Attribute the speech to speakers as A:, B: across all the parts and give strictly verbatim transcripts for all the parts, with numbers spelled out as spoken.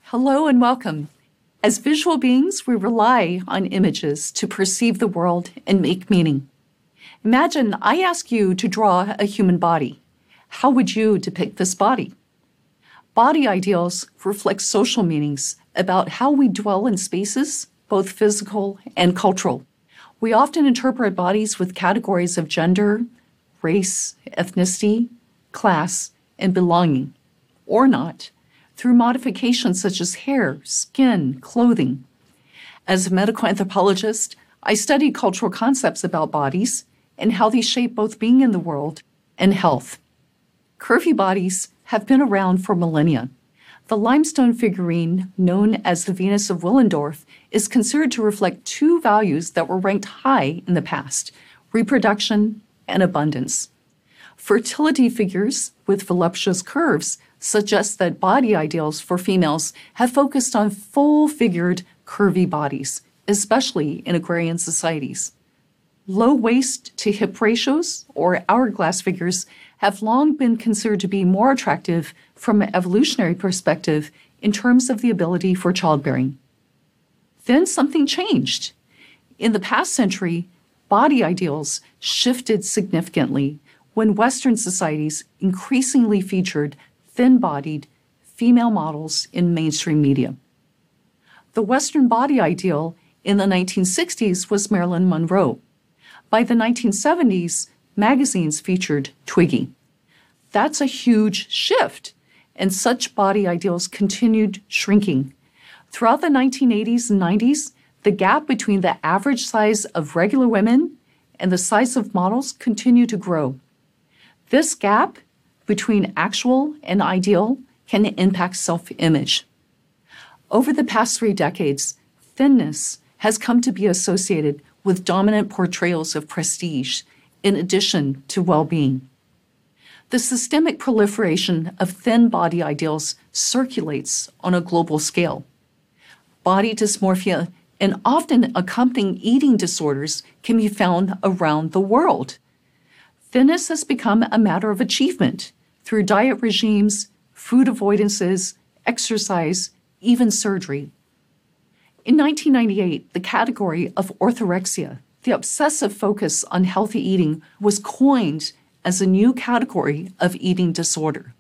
A: Hello and welcome. As visual beings, we rely on images to perceive the world and make meaning. Imagine I ask you to draw a human body. How would you depict this body? Body ideals reflect social meanings about how we dwell in spaces, both physical and cultural. We often interpret bodies with categories of gender, race, ethnicity, class, and belonging, or not, through modifications such as hair, skin, clothing. As a medical anthropologist, I study cultural concepts about bodies and how they shape both being in the world and health. Curvy bodies have been around for millennia. The limestone figurine, known as the Venus of Willendorf, is considered to reflect two values that were ranked high in the past: reproduction and abundance. Fertility figures with voluptuous curves suggest that body ideals for females have focused on full-figured, curvy bodies, especially in agrarian societies. Low waist to hip ratios, or hourglass figures, have long been considered to be more attractive from an evolutionary perspective in terms of the ability for childbearing. Then something changed. In the past century, body ideals shifted significantly when Western societies increasingly featured thin-bodied female models in mainstream media. The Western body ideal in the nineteen sixties was Marilyn Monroe. By the nineteen seventies, magazines featured Twiggy. That's a huge shift, and such body ideals continued shrinking. Throughout the nineteen eighties and nineties, the gap between the average size of regular women and the size of models continued to grow. This gap between actual and ideal can impact self-image. Over the past three decades, thinness has come to be associated with dominant portrayals of prestige, in addition to well-being. The systemic proliferation of thin body ideals circulates on a global scale. Body dysmorphia and often accompanying eating disorders can be found around the world. Thinness has become a matter of achievement through diet regimes, food avoidances, exercise, even surgery. In nineteen ninety-eight, the category of orthorexia, the obsessive focus on healthy eating, was coined as a new category of eating disorder.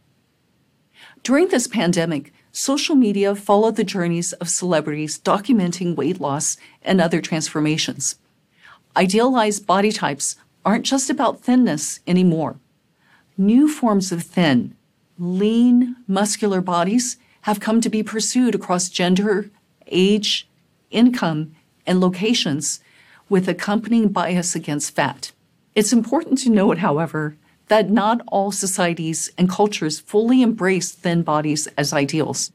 A: During this pandemic, social media followed the journeys of celebrities documenting weight loss and other transformations. Idealized body types aren't just about thinness anymore. New forms of thin, lean, muscular bodies have come to be pursued across gender, age, income, and locations, with accompanying bias against fat. It's important to note, however, that not all societies and cultures fully embrace thin bodies as ideals.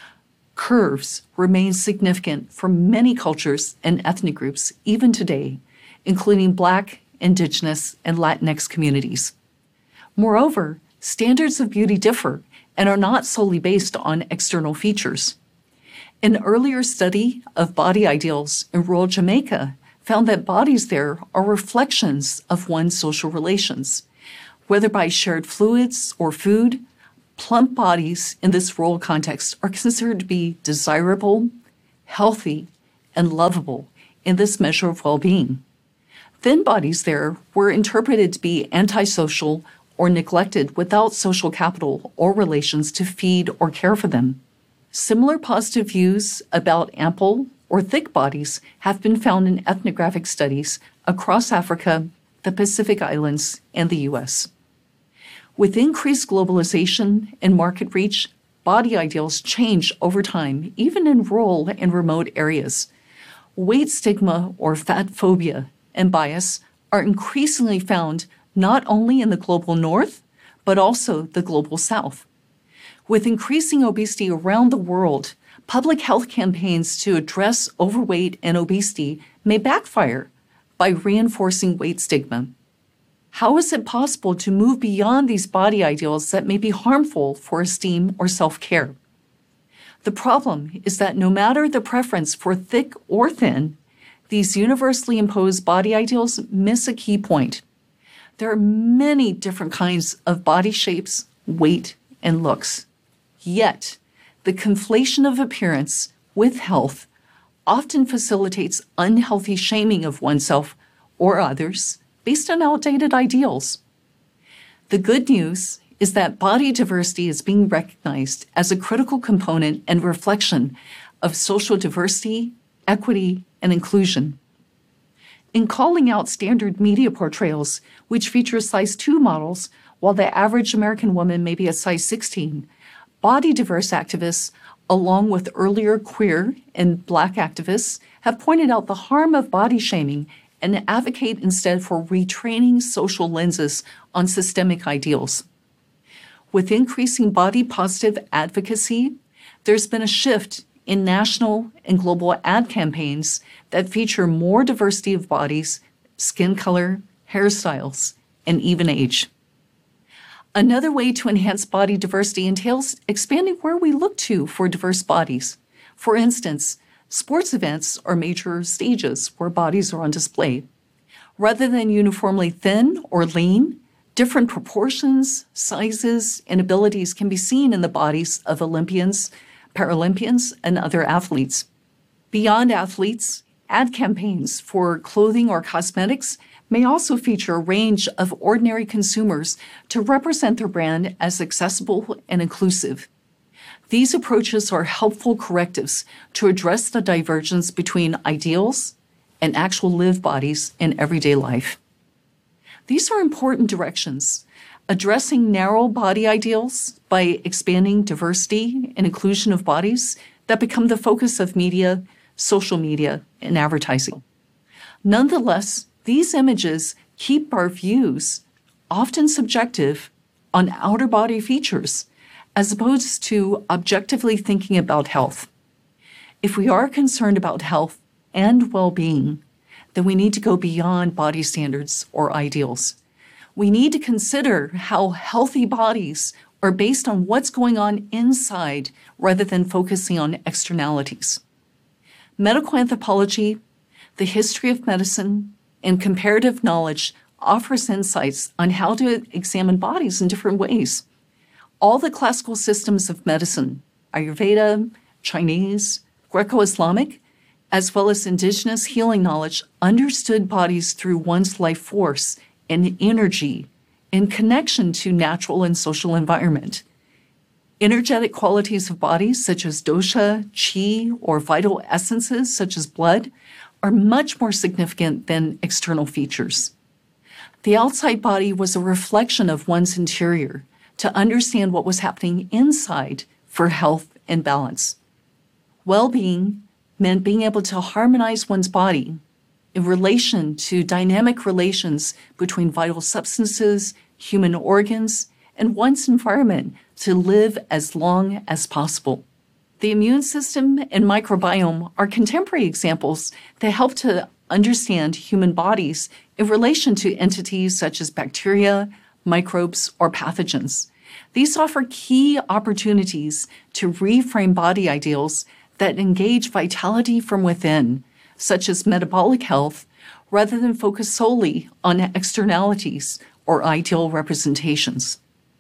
A: Curves remain significant for many cultures and ethnic groups even today, including Black, Indigenous, and Latinx communities. Moreover, standards of beauty differ and are not solely based on external features. An earlier study of body ideals in rural Jamaica found that bodies there are reflections of one's social relations. Whether by shared fluids or food, plump bodies in this rural context are considered to be desirable, healthy, and lovable in this measure of well-being. Thin bodies there were interpreted to be antisocial or neglected without social capital or relations to feed or care for them. Similar positive views about ample or thick bodies have been found in ethnographic studies across Africa, the Pacific Islands, and the U S. With increased globalization and market reach, body ideals change over time, even in rural and remote areas. Weight stigma or fat phobia and bias are increasingly found not only in the global north, but also the global south. With increasing obesity around the world, public health campaigns to address overweight and obesity may backfire by reinforcing weight stigma. How is it possible to move beyond these body ideals that may be harmful for esteem or self-care? The problem is that no matter the preference for thick or thin, these universally imposed body ideals miss a key point. There are many different kinds of body shapes, weight, and looks. Yet, The conflation of appearance with health often facilitates unhealthy shaming of oneself or others based on outdated ideals. The good news is that body diversity is being recognized as a critical component and reflection of social diversity, equity, and inclusion. In calling out standard media portrayals, which feature size two models, while the average American woman may be a size sixteen, body diverse activists, along with earlier queer and Black activists, have pointed out the harm of body shaming and advocate instead for retraining social lenses on systemic ideals. With increasing body positive advocacy, there's been a shift in national and global ad campaigns that feature more diversity of bodies, skin color, hairstyles, and even age. Another way to enhance body diversity entails expanding where we look to for diverse bodies. For instance, sports events are major stages where bodies are on display. Rather than uniformly thin or lean, different proportions, sizes, and abilities can be seen in the bodies of Olympians, Paralympians, and other athletes. Beyond athletes, ad campaigns for clothing or cosmetics may also feature a range of ordinary consumers to represent their brand as accessible and inclusive. These approaches are helpful correctives to address the divergence between ideals and actual lived bodies in everyday life. These are important directions, addressing narrow body ideals by expanding diversity and inclusion of bodies that become the focus of media, social media, and advertising. Nonetheless, these images keep our views, often subjective, on outer body features, as opposed to objectively thinking about health. If we are concerned about health and well-being, then we need to go beyond body standards or ideals. We need to consider how healthy bodies are based on what's going on inside rather than focusing on externalities. Medical anthropology, the history of medicine, and comparative knowledge offers insights on how to examine bodies in different ways. All the classical systems of medicine, Ayurveda, Chinese, Greco-Islamic, as well as indigenous healing knowledge, understood bodies through one's life force and energy in connection to natural and social environment. Energetic qualities of bodies, such as dosha, chi, or vital essences, such as blood, are much more significant than external features. The outside body was a reflection of one's interior to understand what was happening inside for health and balance. Well-being meant being able to harmonize one's body in relation to dynamic relations between vital substances, human organs, and one's environment to live as long as possible. The immune system and microbiome are contemporary examples that help to understand human bodies in relation to entities such as bacteria, microbes, or pathogens. These offer key opportunities to reframe body ideals that engage vitality from within, such as metabolic health, rather than focus solely on externalities or ideal representations.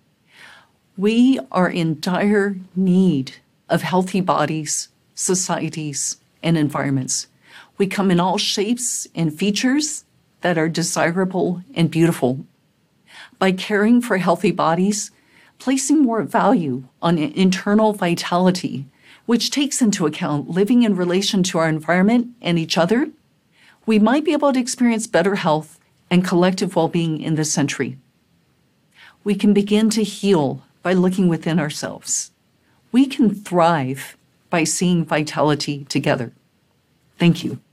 A: We are in dire need of healthy bodies, societies, and environments. We come in all shapes and features that are desirable and beautiful. By caring for healthy bodies, placing more value on internal vitality, which takes into account living in relation to our environment and each other, we might be able to experience better health and collective well-being in this century. We can begin to heal by looking within ourselves. We can thrive by seeing vitality together. Thank you.